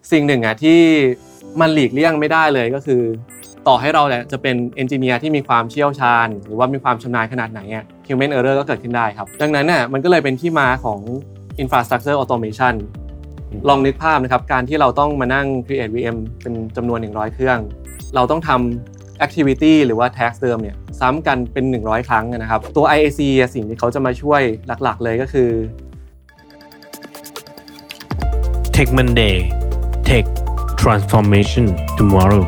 สิ่งหนึ่งที่มันหลีกเลี่ยงไม่ได้เลยก็คือต่อให้เราจะเป็นเอนจิเนียร์ที่มีความเชี่ยวชาญหรือว่ามีความชำนาญขนาดไหนhuman error ก็เกิดขึ้นได้ครับดังนั้นมันก็เลยเป็นที่มาของ infrastructure automation ลองนึกภาพนะครับการที่เราต้องมานั่ง create VM เป็นจำนวน100เครื่องเราต้องทำ activity หรือว่า task เดิมเนี่ยซ้ำกันเป็น100ครั้งนะครับตัว IAC สิ่งที่เขาจะมาช่วยหลักๆเลยก็คือ Tech Monday Tech Transformation Tomorrow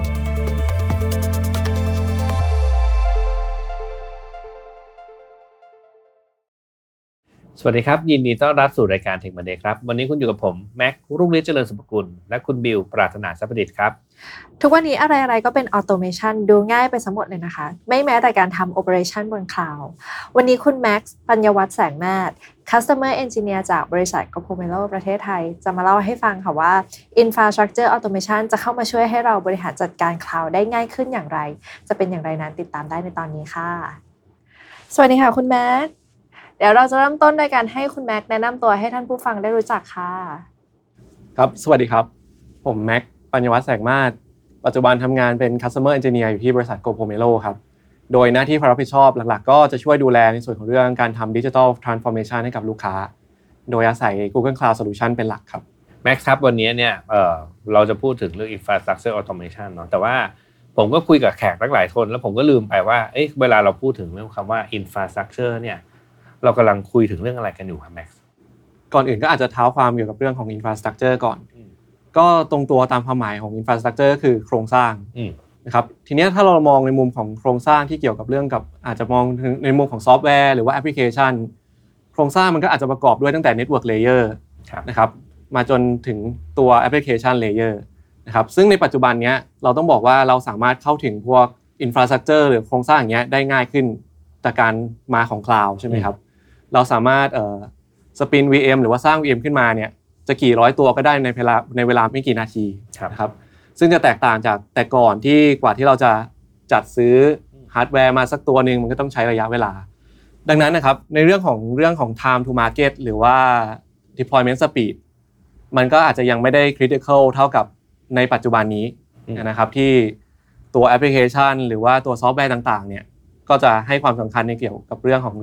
สวัสดีครับยินดีต้อนรับสู่รายการ Tech Monday ครับวันนี้คุณอยู่กับผมแม็กรุ่งฤทธิ์เจริญสุภกุลและคุณบิวปรารถนาทรัพย์ประดิษฐ์ครับทุกวันนี้อะไรๆก็เป็นออโตเมชันดูง่ายไปซะหมดเลยนะคะไม่แม้แต่การทำโอเปอเรชันบนคลาวด์วันนี้คุณแม็กซ์ปัญญวัฒน์แสงนาฏ Customer Engineer จากบริษัท Copomelo ประเทศไทยจะมาเล่าให้ฟังค่ะว่า Infrastructure Automation จะเข้ามาช่วยให้เราบริหารจัดการคลาวด์ได้ง่ายขึ้นอย่างไรจะเป็นอย่างไรนั้นติดตามได้ในตอนนี้ค่ะสวัสดีค่ะคุณแม็กซ์เดี๋ยวเราจะเริ่มต้นโดยการให้คุณแม็กซ์แนะนำตัวให้ท่านผู้ฟังได้รู้จักค่ะครับสวัสดีครับผมแม็กปัญญวัฒน์แสงมาศปัจจุบันทำงานเป็น Customer Engineer อยู่ที่บริษัท Copomelo ครับโดยหน้าที่ความรับผิดชอบหลักๆก็จะช่วยดูแลในส่วนของเรื่องการทำ Digital Transformation ให้กับลูกค้าโดยอาศัย Google Cloud Solution เป็นหลักครับแม็กซ์ครับวันนี้เนี่ยเราจะพูดถึงเรื่อง Infrastructure Automation เนาะแต่ว่าผมก็คุยกับแขกหลายคนแล้วผมก็ลืมไปว่าเวลาเราพูดถึงเรื่องคำว่า Infrastructure เนี่ยเรากำลังคุยถึงเรื่องอะไรกันอยู่ครับแม็กซ์ก่อนอื่นก็อาจจะเท้าความเกี่ยวกับเรื่องของ Infrastructure ก่อนก็ตรงตัวตามความหมายของ Infrastructure คือโครงสร้างนะครับทีนี้ถ้าเรามองในมุมของโครงสร้างที่เกี่ยวกับเรื่องกับอาจจะมองในมุมของซอฟต์แวร์หรือว่าแอปพลิเคชันโครงสร้างมันก็อาจจะประกอบด้วยตั้งแต่ Network Layer นะครับมาจนถึงตัว Application Layer นะครับซึ่งในปัจจุบันนี้เราต้องบอกว่าเราสามารถเข้าถึงพวก Infrastructure หรือโครงสร้างอย่างเงี้ยได้ง่ายขึ้นจากการมาของ Cloud ใช่ไหมครับเราสามารถสปิน VM หรือว่าสร้าง VM ขึ้นมาเนี่ยจะกี่ร้อยตัวก็ได้ในเวลาไม่กี่นาทีนะครับซึ่งจะแตกต่างจากแต่ก่อนที่กว่าที่เราจะจัดซื้อฮาร์ดแวร์มาสักตัวนึงมันก็ต้องใช้ระยะเวลาดังนั้นนะครับในเรื่องของ time to market หรือว่า deployment speed มันก็อาจจะยังไม่ได้ critical เท่ากับในปัจจุบันนี้นะครับที่ตัวแอปพลิเคชันหรือว่าตัวซอฟต์แวร์ต่างๆเนี่ยก็จะให้ความสำคัญในเกี่ยวกับเรื่องของ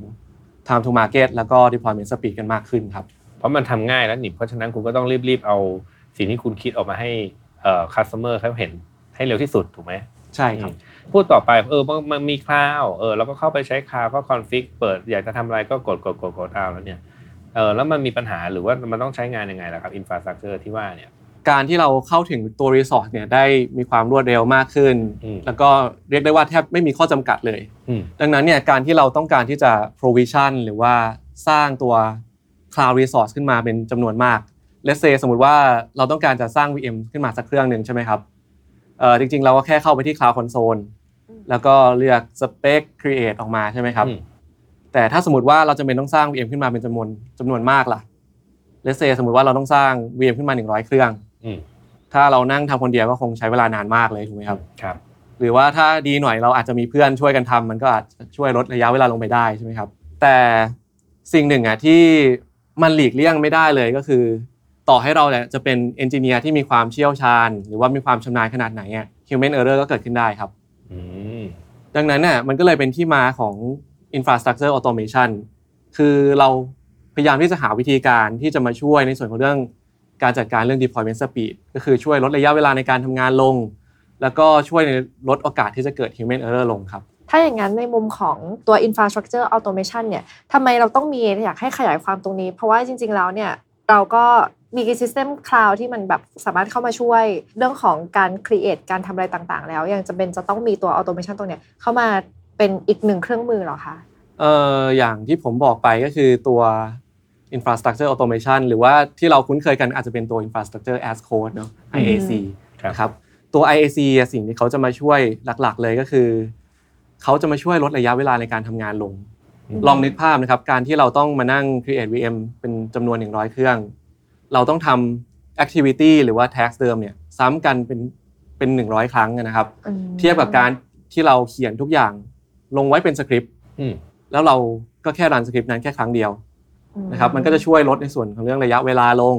time to market แล้วก็ deployment speed กันมากขึ้นครับเพราะมันทำง่ายแล้วนี่เพราะฉะนั้นคุณก็ต้องรีบเอาสิ่งที่คุณคิดออกมาให้customer เขาเห็นให้เร็วที่สุดถูกไหมใช่ครับพูดต่อไปมันมีคลาวด์แล้วก็เข้าไปใช้คลาวด์ก็คอนฟิกเปิดอยากจะทำอะไรก็กดเอาแล้วเนี่ยแล้วมันมีปัญหาหรือว่ามันต้องใช้งานยังไงล่ะครับ infrastructure ที่ว่าเนี่ยการที่เราเข้าถึงตัว resource เนี่ยได้มีความรวดเร็วมากขึ้นแล้วก็เรียกได้ว่าแทบไม่มีข้อจำกัดเลยดังนั้นเนี่ยการที่เราต้องการที่จะ provision หรือว่าสร้างตัว cloud resource ขึ้นมาเป็นจำนวนมาก let's say สมมุติว่าเราต้องการจะสร้าง VM ขึ้นมาสักเครื่องนึงใช่ไหมครับจริงๆเราก็แค่เข้าไปที่ cloud console แล้วก็เลือก spec create ออกมาใช่ไหมครับแต่ถ้าสมมุติว่าเราจำเป็นต้องสร้าง VM ขึ้นมาเป็นจำนวนมากล่ะ let's say สมมุติว่าเราต้องสร้าง VM ขึ้นมา100เครื่องถ้าเรานั่งทำคนเดียวก็คงใช้เวลานานมากเลยถูกไหมครับครับหรือว่าถ้าดีหน่อยเราอาจจะมีเพื่อนช่วยกันทำมันก็อาจจะช่วยลดระยะเวลาลงไปได้ใช่ไหมครับแต่สิ่งหนึ่งที่มันหลีกเลี่ยงไม่ได้เลยก็คือต่อให้เราจะเป็นเอนจิเนียร์ที่มีความเชี่ยวชาญหรือว่ามีความชำนาญขนาดไหนhuman error ก็เกิดขึ้นได้ครับดังนั้นมันก็เลยเป็นที่มาของ infrastructure automation คือเราพยายามที่จะหาวิธีการที่จะมาช่วยในส่วนของเรื่องการจัดการเรื่อง deployment speed ก็คือช่วยลดระยะเวลาในการทำงานลงแล้วก็ช่วยลดโอกาสที่จะเกิด human error ลงครับถ้าอย่างนั้นในมุมของตัว infrastructure automation เนี่ยทำไมเราต้องมีอยากให้ขยายความตรงนี้เพราะว่าจริงๆแล้วเนี่ยเราก็มี system cloud ที่มันแบบสามารถเข้ามาช่วยเรื่องของการ create การทำอะไรต่างๆแล้วยังจำเป็นจะต้องมีตัว automation ตรงเนี้ยเข้ามาเป็นอีกหนึ่งเครื่องมือหรอคะอย่างที่ผมบอกไปก็คือตัวinfrastructure automation หรือว่าที่เราคุ้นเคยกันอาจจะเป็นตัว infrastructure as code เนาะ IAC นะครับตัว IAC สิ่งที่เขาจะมาช่วยหลักๆเลยก็คือเขาจะมาช่วยลดระยะเวลาในการทำงานลงลองนึกภาพนะครับการที่เราต้องมานั่ง create VM เป็นจำนวน100เครื่องเราต้องทำ activity หรือว่า task เดิมเนี่ยซ้ำกันเป็น100ครั้งนะครับเทียบกับการที่เราเขียนทุกอย่างลงไว้เป็นสคริปต์แล้วเราก็แค่รันสคริปต์นั้นแค่ครั้งเดียวนะครับมันก็จะช่วยลดในส่วนของเรื่องระยะเวลาลง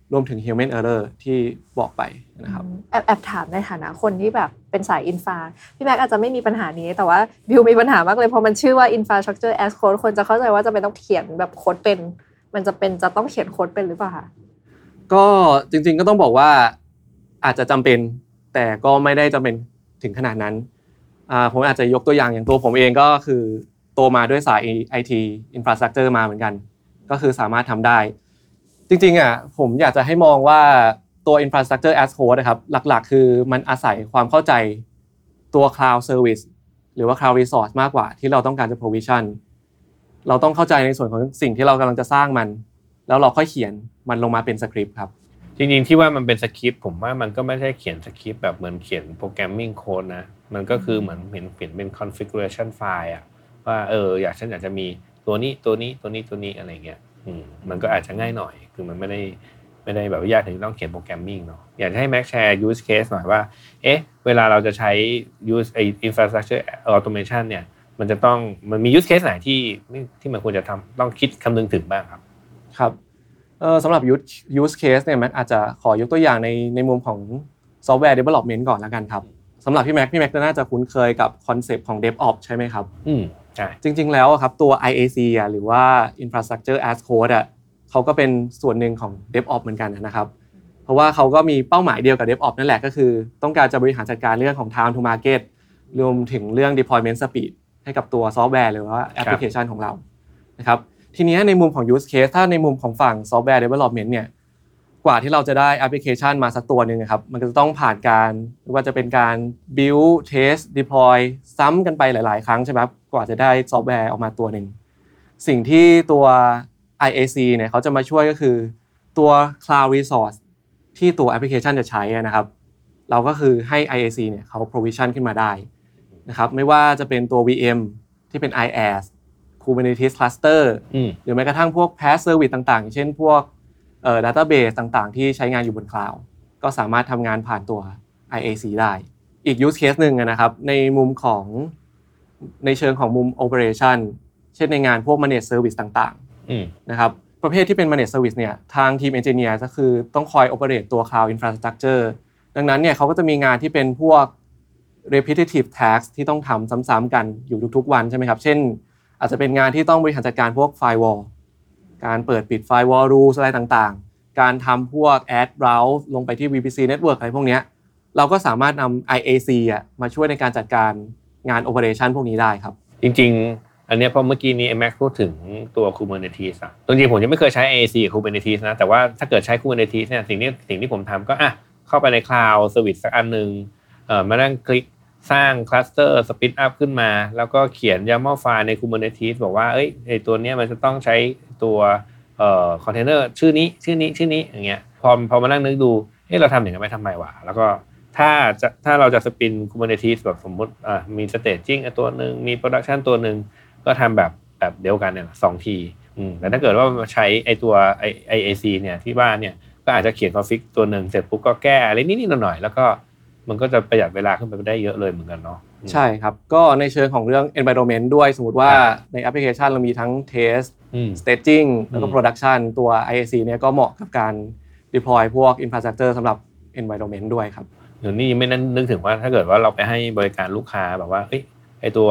รวมถึง human error ที่บอกไปนะครับแอบถามในฐานะคนที่แบบเป็นสายอินฟาพี่แม็กอาจจะไม่มีปัญหานี้แต่ว่าบิวมีปัญหามากเลยพอมันชื่อว่า infrastructure as code คนจะเข้าใจว่าจะเป็นต้องเขียนแบบโค้ดเป็นมันจะต้องเขียนโค้ดเป็นหรือเปล่าคะก็จริงๆก็ต้องบอกว่าอาจจะจำเป็นแต่ก็ไม่ได้จำเป็นถึงขนาดนั้นผมอาจจะยกตัวอย่างตัวผมเองก็คือโตมาด้วยสาย IT infrastructure มาเหมือนกันก็คือสามารถทำได้จริงๆผมอยากจะให้มองว่าตัว infrastructure as code นะครับหลักๆคือมันอาศัยความเข้าใจตัว cloud service หรือว่า cloud resource มากกว่าที่เราต้องการจะ provision เราต้องเข้าใจในส่วนของสิ่งที่เรากำลังจะสร้างมันแล้วเราค่อยเขียนมันลงมาเป็นสคริปต์ครับจริงๆที่ว่ามันเป็นสคริปต์ผมว่ามันก็ไม่ใช่เขียนสคริปต์แบบเหมือนเขียนโปรแกรมมิ่งโค้ดนะมันก็คือเหมือนเปลี่ยนเป็น configuration file ว่าฉันอยากจะมีตัวนี้อะไรเงี้ยมันก็อาจจะง่ายหน่อยคือมันไม่ได้แบบยากถึงต้องเขียนโปรแกรมมิ่งเนาะอยากให้แม็กแชร์ use case หน่อยว่าเวลาเราจะใช้ use infrastructure automation เนี่ยมันมี use case ไหนที่มันควรจะทำต้องคิดคำนึงถึงบ้างครับครับสำหรับ use case เนี่ยแม็กอาจจะขอยกตัวอย่างในมุมของ software development ก่อนแล้วกันครับสำหรับพี่แม็กน่าจะคุ้นเคยกับคอนเซปต์ของ DevOps ใช่ไหมครับใช่จริงๆแล้วครับตัว IAC หรือว่า Infrastructure as Code เขาก็เป็นส่วนหนึ่งของ DevOps เหมือนกันนะครับเพราะว่าเขาก็มีเป้าหมายเดียวกับ DevOps นั่นแหละก็คือต้องการจะบริหารจัดการเรื่องของ time to market รวมถึงเรื่อง deployment speed ให้กับตัวซอฟต์แวร์หรือว่าแอปพลิเคชันของเรานะครับทีนี้ในมุมของ use case ถ้าในมุมของฝั่ง software development เนี่ยกว่าที่เราจะได้แอปพลิเคชันมาสักตัวนึงครับมันก็จะต้องผ่านการไม่ว่าจะเป็นการ build test deploy ซ้ำกันไปหลายๆครั้งใช่ไหมครับกว่าจะได้ซอฟต์แวร์ออกมาตัวนึงสิ่งที่ตัว IAC เนี่ยเขาจะมาช่วยก็คือตัว cloud resource ที่ตัวแอปพลิเคชันจะใช้นะครับเราก็คือให้ IAC เนี่ยเขา provision ขึ้นมาได้นะครับไม่ว่าจะเป็นตัว VM ที่เป็น IaaS Kubernetes cluster หรือแม้กระทั่งพวก PaaS service ต่างๆอย่างเช่นพวกdatabase ต่างๆที่ใช้งานอยู่บน cloud ก็สามารถทำงานผ่านตัว IAC ได้อีก use case นึงนะครับในมุมของในเชิงของมุม operation เช่นในงานพวก managed service ต่างๆนะครับประเภทที่เป็น managed service เนี่ยทางทีม engineer ก็คือต้องคอย operate ตัว cloud infrastructure ดังนั้นเนี่ยเขาก็จะมีงานที่เป็นพวก repetitive task ที่ต้องทำซ้ำๆกันอยู่ทุกๆวันใช่ไหมครับเช่นอาจจะเป็นงานที่ต้องบริหารจัดการพวก firewall การเปิดปิด firewall rules อะไรต่างๆการทำพวก add route ลงไปที่ VPC network อะไรพวกนี้เราก็สามารถนำ IAC มาช่วยในการจัดการงาน operation พวกนี้ได้ครับจริงๆอันนี้พอเมื่อกี้นี้แม็กพูดถึงตัว Kubernetes จริงๆผมยังไม่เคยใช้ IAC กับ Kubernetes นะแต่ว่าถ้าเกิดใช้ Kubernetes เนี่ยสิ่งที่ผมทำก็เข้าไปใน Cloud Service สักอันนึงมานั่งคลิกสร้างคลัสเตอร์สปินอัพขึ้นมาแล้วก็เขียน YAML ไฟล์ใน Kubernetes บอกว่าไอ้ตัวเนี้ยมันจะต้องใช้ตัวคอนเทนเนอร์ชื่อนี้อย่างเงี้ยพอมานั่งนึกดูเราทำอย่างนั้นไปทำไมวะแล้วก็ถ้าเราจะสปิน Kubernetes แบบสมมุติมี staging ตัวนึงมี production ตัวนึงก็ทำแบบเดียวกันเนี่ย2ทีแต่ถ้าเกิดว่าใช้ไอ้ตัว IAC เนี่ยที่บ้านเนี่ยก็อาจจะเขียน config ตัวนึงเสร็จปุ๊บก็แก้อะไรนิดๆหน่อยๆแล้วก็มันก็จะประหยัดเวลาขึ้นไปได้เยอะเลยเหมือนกันเนาะใช่ครับก็ในเชิงของเรื่อง environment ด้วยสมมุติว่าในแอปพลิเคชันเรามีทั้ง test staging แล้วก็ production ตัว IAC เนี่ยก็เหมาะกับการ deploy พวก infrastructure สำหรับ environment ด้วยครับเดี๋ยวนี้ไม่นึกถึงว่าถ้าเกิดว่าเราไปให้บริการลูกค้าแบบว่าไอตัว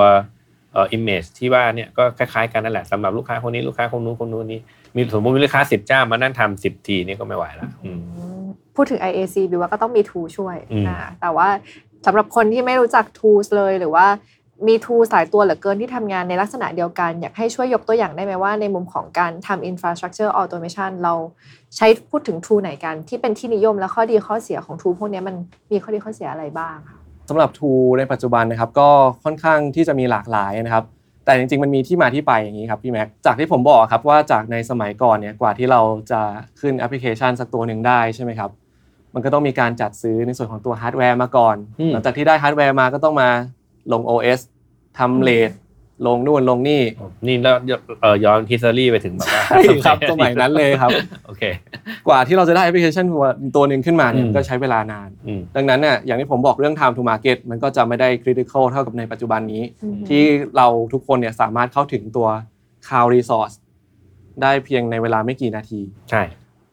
image ที่ว่าเนี่ยก็คล้ายๆกันนั่นแหละสำหรับลูกค้าคนนี้ลูกค้าคนนู้นนี่มีสมมติมีลูกค้า10เจ้ามานั่งทำ10ทีนี่ก็ไม่ไหวละพูดถึง IAC บิวว่าก็ต้องมี tool ช่วยแต่ว่าสำหรับคนที่ไม่รู้จัก tools เลยหรือว่ามี tools หลายตัวเหลือเกินที่ทำงานในลักษณะเดียวกันอยากให้ช่วยยกตัวอย่างได้ไหมว่าในมุมของการทำ infrastructure automation เราใช้พูดถึง tool ไหนกันที่เป็นที่นิยมและข้อดีข้อเสียของ tool พวกนี้มันมีข้อดีข้อเสียอะไรบ้างคะสำหรับ tool ในปัจจุบันนะครับก็ค่อนข้างที่จะมีหลากหลายนะครับแต่จริงๆมันมีที่มาที่ไปอย่างนี้ครับพี่แม็กจากที่ผมบอกครับว่าจากในสมัยก่อนเนี่ยกว่าที่เราจะขึ้นแอปพลิเคชันสักตัวนึงได้ใช่ไหมครับมันก็ต้องมีการจัดซื้อในส่วนของตัวฮาร์ดแวร์มาก่อนหลังจากที่ได้ฮาร์ดแวร์มาก็ต้องมาลง OS ทำเลทลงนู่นลงนี่แล้วย้อนhistoryไปถึงแบบว่าครับสมัยนั้นเลยครับโอเคกว่าที่เราจะได้แอปพลิเคชันตัวนึงขึ้นมาเนี่ยก็ใช้เวลานานดังนั้นเนี่ยอย่างที่ผมบอกเรื่อง time to market มันก็จะไม่ได้ critical เท่ากับในปัจจุบันนี้ที่เราทุกคนเนี่ยสามารถเข้าถึงตัว cloud resource ได้เพียงในเวลาไม่กี่นาทีใช่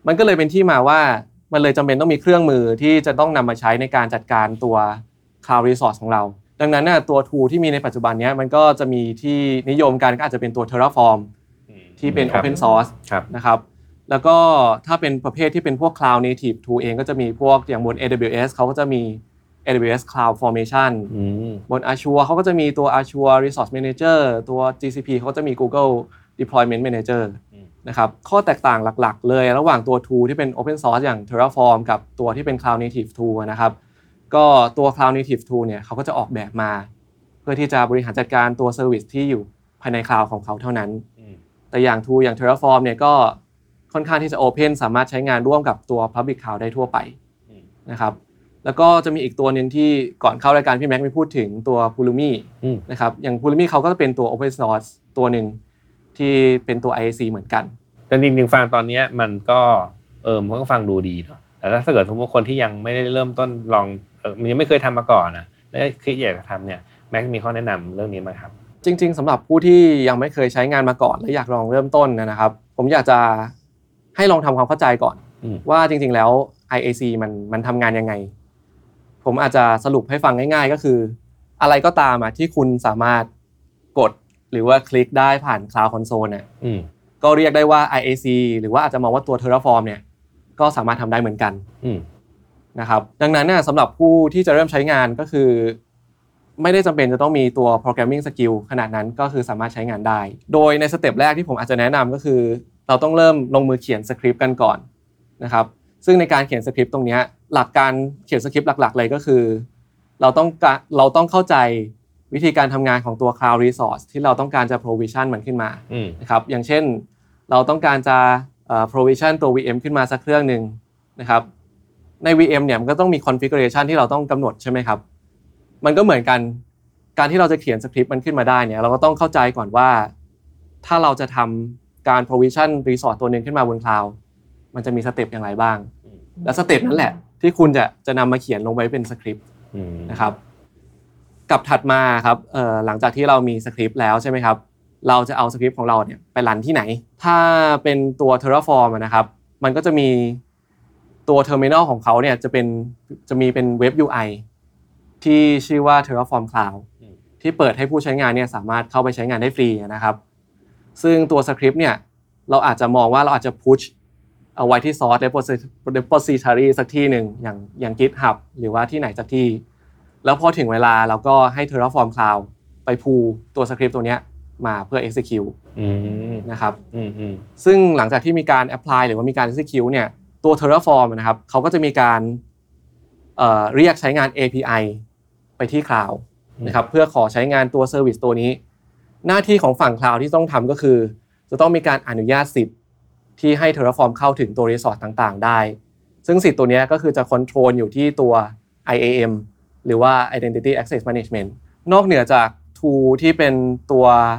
มันก็เลยเป็นที่มาว่ามันเลยจำเป็นต้องมีเครื่องมือที่จะต้องนำมาใช้ในการจัดการตัว Cloud Resource ของเราดังนั้นน่ะตัว tool ที่มีในปัจจุบันนี้มันก็จะมีที่นิยมกันก็อาจจะเป็นตัว Terraform ที่เป็น Open Source นะครับแล้วก็ถ้าเป็นประเภทที่เป็นพวก Cloud Native tool เองก็จะมีพวกอย่างบน AWS เขาก็จะมี AWS Cloud Formation บน Azure เขาก็จะมีตัว Azure Resource Manager ตัว GCP เขาก็จะมี Google Deployment Manager นะครับข้อแตกต่างหลักๆเลยระหว่างตัว tool ที่เป็น Open Source อย่าง Terraform กับตัวที่เป็น Cloud Native tool นะครับก็ตัว Cloud Native tool เนี่ยเขาก็จะออกแบบมาเพื่อที่จะบริหารจัดการตัว Service ที่อยู่ภายใน Cloud ของเขาเท่านั้นแต่อย่าง tool อย่าง Terraform เนี่ยก็ค่อนข้างที่จะ Open สามารถใช้งานร่วมกับตัว Public Cloud ได้ทั่วไปนะครับแล้วก็จะมีอีกตัวนึงที่ก่อนเข้ารายการพี่แม็กซ์มีพูดถึงตัว Pulumi นะครับอย่าง Pulumi เขาก็จะเป็นตัว Open Source ตัวนึงที่เป็นตัว IAC เหมือนกันแต่จริงๆฟังตอนนี้มันก็มันก็ฟังดูดีเนาะแต่ถ้าเกิดสมมติคนที่ยังไม่ได้เริ่มต้นลองมันยังไม่เคยทำมาก่อนนะแล้วคิดอยากจะทำเนี่ยแม็กมีข้อแนะนำเรื่องนี้ไหมครับจริงๆสำหรับผู้ที่ยังไม่เคยใช้งานมาก่อนและอยากลองเริ่มต้นนะครับผมอยากจะให้ลองทำความเข้าใจก่อนว่าจริงๆแล้ว IAC มันทำงานยังไงผมอาจจะสรุปให้ฟังง่ายๆก็คืออะไรก็ตามที่คุณสามารถกดหรือว่าคลิกได้ผ่าน Cloud Console เนี่ยก็เรียกได้ว่า IAC หรือว่าอาจจะมองว่าตัว Terraform เนี่ยก็สามารถทำได้เหมือนกันนะครับดังนั้นเนี่ยสำหรับผู้ที่จะเริ่มใช้งานก็คือไม่ได้จำเป็นจะต้องมีตัว programming skill ขนาดนั้นก็คือสามารถใช้งานได้โดยในสเต็ปแรกที่ผมอาจจะแนะนำก็คือเราต้องเริ่มลงมือเขียนสคริปต์กันก่อนนะครับซึ่งในการเขียนสคริปต์ตรงนี้หลักการเขียนสคริปต์หลักๆเลยก็คือเราต้องเข้าใจวิธีการทำงานของตัว Cloud Resource ที่เราต้องการจะ provision มันขึ้นมานะครับอย่างเช่นเราต้องการจะprovision ตัว VM ขึ้นมาสักเครื่องนึงนะครับใน VM เนี่ยมันก็ต้องมี configuration ที่เราต้องกำหนดใช่ไหมครับมันก็เหมือนกันการที่เราจะเขียนสคริปต์มันขึ้นมาได้เนี่ยเราก็ต้องเข้าใจก่อนว่าถ้าเราจะทำการ provision resource ตัวนึงขึ้นมาบน cloud มันจะมีสเต็ปอย่างไรบ้างและสเต็ปนั้นแหละที่คุณจะนำมาเขียนลงไว้เป็นสคริปต์นะครับกับถัดมาครับหลังจากที่เรามีสคริปต์แล้วใช่ไหมครับเราจะเอาสคริปต์ของเราเนี่ยไปรันที่ไหนถ้าเป็นตัว Terraform นะครับมันก็จะมีตัว terminal ของเขาเนี่ยจะมีเป็นเว็บ UI ที่ชื่อว่า Terraform Cloud ที่เปิดให้ผู้ใช้งานเนี่ยสามารถเข้าไปใช้งานได้ฟรีนะครับซึ่งตัวสคริปต์เนี่ยเราอาจจะมองว่าเราอาจจะ push เอาไว้ที่ source repository สักที่นึงอย่าง GitHub หรือว่าที่ไหนสักที่แล้วพอถึงเวลาเราก็ให้ Terraform Cloud ไปพูลตัวสคริปต์ตัวเนี้ยมาเพื่อ execute นะครับซึ่งหลังจากที่มีการ apply หรือว่ามีการ execute เนี่ยตัว Terraform นะครับเขาก็จะมีการเรียกใช้งาน API ไปที่ Cloud นะครับเพื่อขอใช้งานตัว Service ตัวนี้หน้าที่ของฝั่ง Cloud ที่ต้องทำก็คือจะต้องมีการอนุญาตสิทธิ์ที่ให้ Terraform เข้าถึงตัว resource ต่างๆได้ซึ่งสิทธิ์ตัวนี้ก็คือจะ control อยู่ที่ตัว IAM หรือว่า Identity Access Management นอกเหนือจาก tool ที่เป็นตัว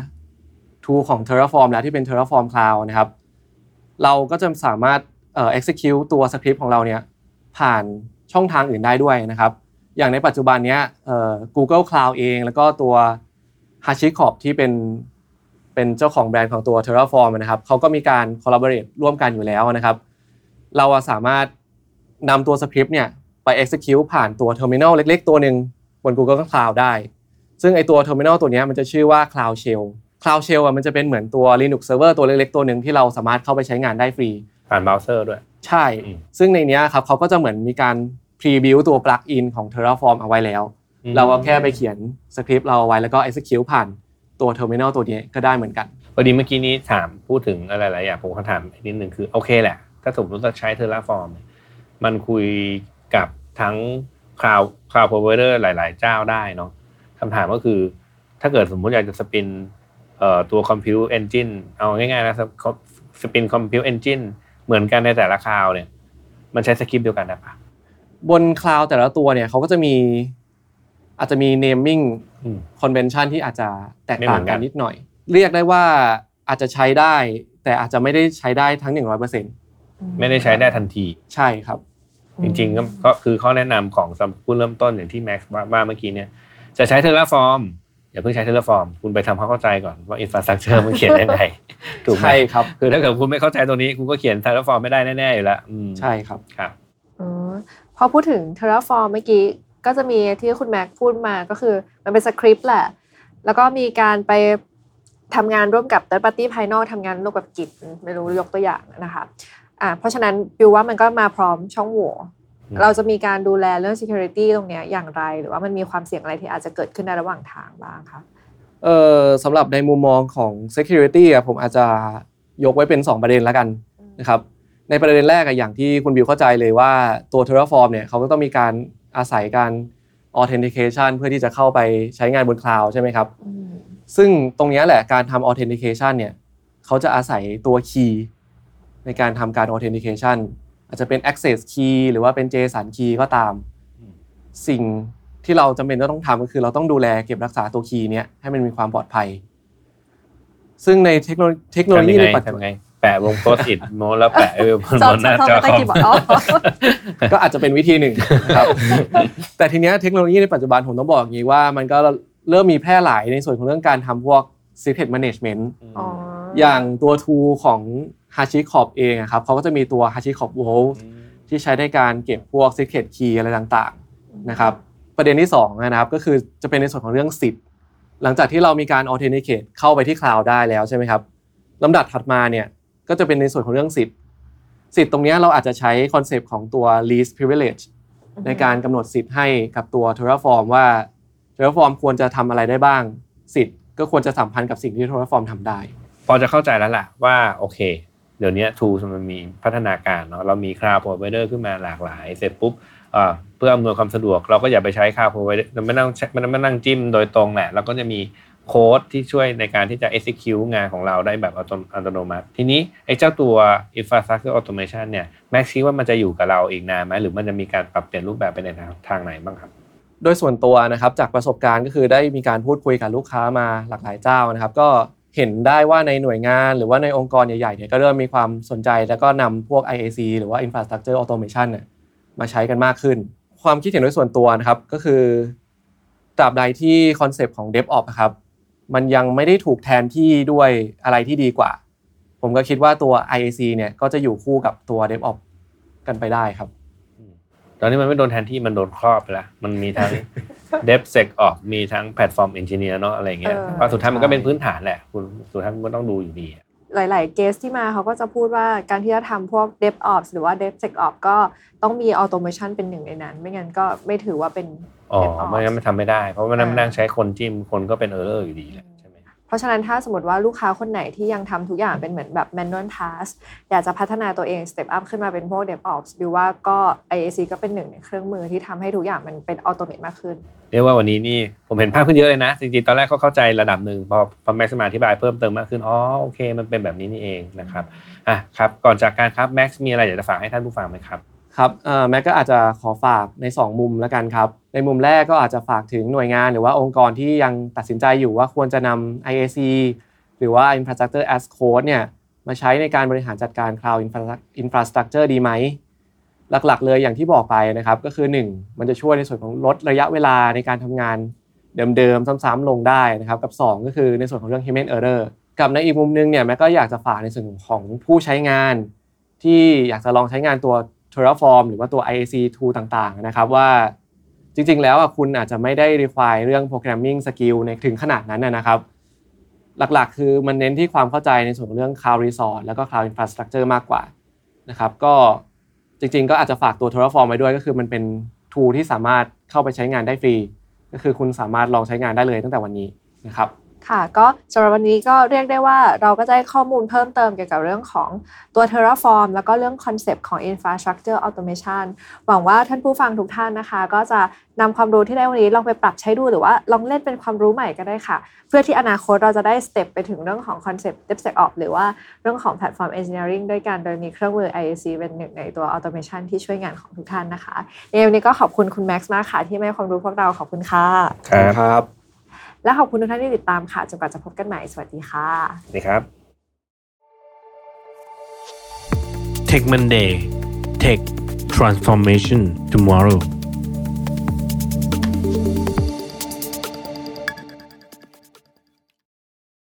tool ของ Terraform แล้วที่เป็น Terraform Cloud นะครับเราก็จะสามารถexecute ตัวสคริปต์ของเราเนี่ยผ่านช่องทางอื่นได้ด้วยนะครับอย่างในปัจจุบันเนี้ยGoogle Cloud เองแล้วก็ตัว HashiCorp ที่เป็นเจ้าของแบรนด์ของตัว Terraform นะครับเขาก็มีการ collaborate ร่วมกันอยู่แล้วนะครับเราสามารถนำตัวสคริปต์เนี่ยไป execute ผ่านตัว terminal เล็กๆตัวนึงบน Google Cloud ได้ซึ่งไอตัว terminal ตัวนี้มันจะชื่อว่า Cloud Shell มันจะเป็นเหมือนตัว Linux server ตัวเล็กๆตัวนึงที่เราสามารถเข้าไปใช้งานได้ฟรีผ่านเบราว์เซอร์ด้วยใช่ซึ่งในนี้ครับเขาก็จะเหมือนมีการ pre-build ตัว plugin ของ Terraform เอาไว้แล้วเราก็แค่ไปเขียนสคริปต์เราเอาไว้แล้วก็ execute ผ่านตัว terminal ตัวนี้ก็ได้เหมือนกันพอดีเมื่อกี้นี้ถามพูดถึงอะไรหลายอย่างผมก็ถามนิดนึงคือโอเคแหละถ้าสมมติจะใช้ Terraform มันคุยกับทั้ง Cloud Provider หลายๆเจ้าได้เนาะคำถามก็คือถ้าเกิดสมมติอยากจะสปินตัว Compute Engine เอาง่ายๆนะสปิน Compute Engine เหมือนกันในแต่ละคลาวด์เนี่ยมันใช้สคริปต์เดียวกันได้ปะบนคลาวด์แต่ละตัวเนี่ยเขาก็จะมีอาจจะมี naming convention ที่อาจจะแตกต่างกันนิดหน่อยเรียกได้ว่าอาจจะใช้ได้แต่อาจจะไม่ได้ใช้ได้ทั้ง 100% ไม่ได้ใช้ได้ทันทีใช่ครับจริงๆก็คือข้อแนะนำของผู้เริ่มต้นอย่างที่แม็กซ์ว่าเมื่อกี้เนี่ยจะใช้ Terraform อย่าเพิ่งใช้ Terraform คุณไปทำความเข้าใจก่อนว่า infrastructure มันเขียนยังไงถูกไหมใช่ครับคือถ้าเกิดคุณไม่เข้าใจตรงนี้คุณก็เขียน Terraform ไม่ได้แน่ๆอยู่แล้วใช่ครับครับพอพูดถึง Terraform เมื่อกี้ก็จะมีที่คุณแม็กพูดมาก็คือมันเป็นสคริปต์แหละแล้วก็มีการไปทำงานร่วมกับ third party ภายนอกทำงานร่วมกับ Git ไม่รู้ยกตัวอย่างนะคะเพราะฉะนั้นบิวว่ามันก็มาพร้อมช่องโหว่เราจะมีการดูแลเรื่อง security ตรงนี้อย่างไรหรือว่ามันมีความเสี่ยงอะไรที่อาจจะเกิดขึ้นในระหว่างทางบ้างคะสำหรับในมุมมองของ security ผมอาจจะยกไว้เป็น2ประเด็นแล้วกันนะครับในประเด็นแรกอย่างที่คุณบิวเข้าใจเลยว่าตัว Terraform เนี่ยเขาก็ต้องมีการอาศัยการ authentication เพื่อที่จะเข้าไปใช้งานบนคลาวด์ใช่ไหมครับซึ่งตรงนี้แหละการทำ authentication เนี่ยเขาจะอาศัยตัว key ในการทำการ authentication อาจจะเป็น access key หรือว่าเป็น JSON key ก็ตามสิ่งที่เราจำเป็นต้องทำก็คือเราต้องดูแลเก็บรักษาตัว key เนี้ยให้มันมีความปลอดภัยซึ่งในเทคโนโลยีในปัจจุบันแปะวงโพสต์อิทโน้ตแล้วแปะบนหน้าจอคอมก็อาจจะเป็นวิธีหนึ่งครับแต่ทีเนี้ยเทคโนโลยีในปัจจุบันผมต้องบอกอย่างนี้ว่ามันก็เริ่มมีแพร่หลายในส่วนของเรื่องการทำพวก secret management อย่างตัว tool ของ HashiCorp เองครับเขาก็จะมีตัว HashiCorp Vault ที่ใช้ในการเก็บพวก secret key อะไรต่างๆนะครับประเด็นที่2นะครับก็คือจะเป็นในส่วนของเรื่องสิทธิ์หลังจากที่เรามีการ authenticate เข้าไปที่คลาวด์ได้แล้วใช่ไหมครับลำดับถัดมาเนี่ยก็จะเป็นในส่วนของเรื่องสิทธิ์ตรงนี้เราอาจจะใช้คอนเซปต์ของตัว least privilege ในการกำหนดสิทธิ์ให้กับตัว Terraform ว่า Terraform ควรจะทำอะไรได้บ้างสิทธิ์ก็ควรจะสัมพันธ์กับสิ่งที่ Terraform ทำได้พอจะเข้าใจแล้วล่ะว่าโอเคเดี๋ยวนี้ tools มันมีพัฒนาการเนาะเรามี cloud provider ขึ้นมาหลากหลายเสร็จปุ๊บเพื่ออำนวยความสะดวกเราก็อย่าไปใช้ cloud provider ไม่นั่งจิ้มโดยตรงแหละเราก็จะมีโค้ดที่ช่วยในการที่จะ execute งานของเราได้แบบอัตโนมัติทีนี้ไอ้เจ้าตัว infrastructure automation เนี่ยแม็กซ์คิดว่ามันจะอยู่กับเราอีกนานไหมหรือมันจะมีการปรับเปลี่ยนรูปแบบไปในทางไหนบ้างครับโดยส่วนตัวนะครับจากประสบการณ์ก็คือได้มีการพูดคุยกับลูกค้ามาหลากหลายเจ้านะครับก็เห็นได้ว่าในหน่วยงานหรือว่าในองค์กรใหญ่ๆเนี่ยก็เริ่มมีความสนใจแล้วก็นำพวก IAC หรือว่า infrastructure automation เนี่ยมาใช้กันมากขึ้นความคิดเห็นโดยส่วนตัวนะครับก็คือตราบใดที่คอนเซปต์ของ DevOps ครับมันยังไม่ได้ถูกแทนที่ด้วยอะไรที่ดีกว่าผมก็คิดว่าตัว IAC เนี่ยก็จะอยู่คู่กับตัว DevOps กันไปได้ครับตอนนี้มันไม่โดนแทนที่มันโดนครอบไปแล้วมันมีทั้ง DevSecOps มีทั้ง Platform Engineer เนาะอะไรเงี้ยเพราะสุดท้ายมันก็เป็นพื้นฐานแหละคุณสุดท้ายมันก็ต้องดูอยู่ดีหลายๆเกสที่มาเขาก็จะพูดว่าการที่จะทำพวก DevOps หรือว่า DevSecOps ก็ต้องมี Automation เป็นหนึ่งในนั้นไม่งั้นก็ไม่ถือว่าเป็น DevOps ไม่งั้นมันทำไม่ได้เพราะว่านั่งใช้คนจิ้มคนก็เป็น error อยู่ดีแหละเพราะฉะนั้นถ้าสมมติว่าลูกค้าคนไหนที่ยังทำทุกอย่างเป็นเหมือนแบบ manual task อยากจะพัฒนาตัวเอง step up ขึ้นมาเป็นพวก DevOps ดูว่าก็ IAC ก็เป็นหนึ่งในเครื่องมือที่ทำให้ทุกอย่างมันเป็น automate มากขึ้นเรียกว่าวันนี้นี่ผมเห็นภาพขึ้นเยอะเลยนะจริงๆตอนแรกก็เข้าใจระดับหนึ่งพอแม็กซ์มาอธิบายเพิ่มเติมมากขึ้นโอเคมันเป็นแบบนี้นี่เองนะครับครับก่อนจากการครับแม็กซ์มีอะไรอยากจะฝากให้ท่านผู้ฟังไหมครับครับแม็กก็อาจจะขอฝากใน2มุมแล้วกันครับในมุมแรกก็อาจจะฝากถึงหน่วยงานหรือว่าองค์กรที่ยังตัดสินใจอยู่ว่าควรจะนำ IAC หรือว่า Infrastructure as Code เนี่ยมาใช้ในการบริหารจัดการ Cloud Infrastructure ดีไหมหลักๆเลยอย่างที่บอกไปนะครับก็คือ1มันจะช่วยในส่วนของลดระยะเวลาในการทำงานเดิมๆซ้ำๆลงได้นะครับกับ2ก็คือในส่วนของเรื่อง Human Error กับในอีกมุมนึงเนี่ยแม็กก็อยากจะฝากในส่วนของผู้ใช้งานที่อยากจะลองใช้งานตัว Terraform หรือว่าตัว IAC tool ต่างๆนะครับว่าจริงๆแล้วคุณอาจจะไม่ได้ require เรื่อง programming skill ในถึงขนาดนั้นนะครับหลักๆคือมันเน้นที่ความเข้าใจในส่วนของเรื่อง Cloud Resource แล้วก็ Cloud Infrastructure มากกว่านะครับก็จริงๆก็อาจจะฝากตัว Terraform ไว้ด้วยก็คือมันเป็น tool ที่สามารถเข้าไปใช้งานได้ฟรีก็คือคุณสามารถลองใช้งานได้เลยตั้งแต่วันนี้นะครับค่ะก็สำหรับวันนี้ก็เรียกได้ว่าเราก็ได้ข้อมูลเพิ่มเติมเกี่ยวกับเรื่องของตัว Terraform แล้วก็เรื่องคอนเซปต์ของ Infrastructure Automation หวังว่าท่านผู้ฟังทุกท่านนะคะก็จะนำความรู้ที่ได้วันนี้ลองไปปรับใช้ดูหรือว่าลองเล่นเป็นความรู้ใหม่ก็ได้ค่ะเพื่อที่อนาคตเราจะได้สเต็ปไปถึงเรื่องของคอนเซปต์ DevSecOps หรือว่าเรื่องของ Platform Engineering ด้วยกันโดยมีเครื่องมือ IAC เป็นหนึ่งในตัว Automation ที่ช่วยงานของทุกท่านนะคะในวันนี้ก็ขอบคุณคุณแม็กซ์มากค่ะที่ให้ความรู้พวกเราขอบคุณค่ะครับและขอบคุณทุกท่านที่ติดตามค่ะจนกว่าจะพบกันใหม่สวัสดีค่ะสวัสดีครับ Tech Monday Tech Transformation Tomorrow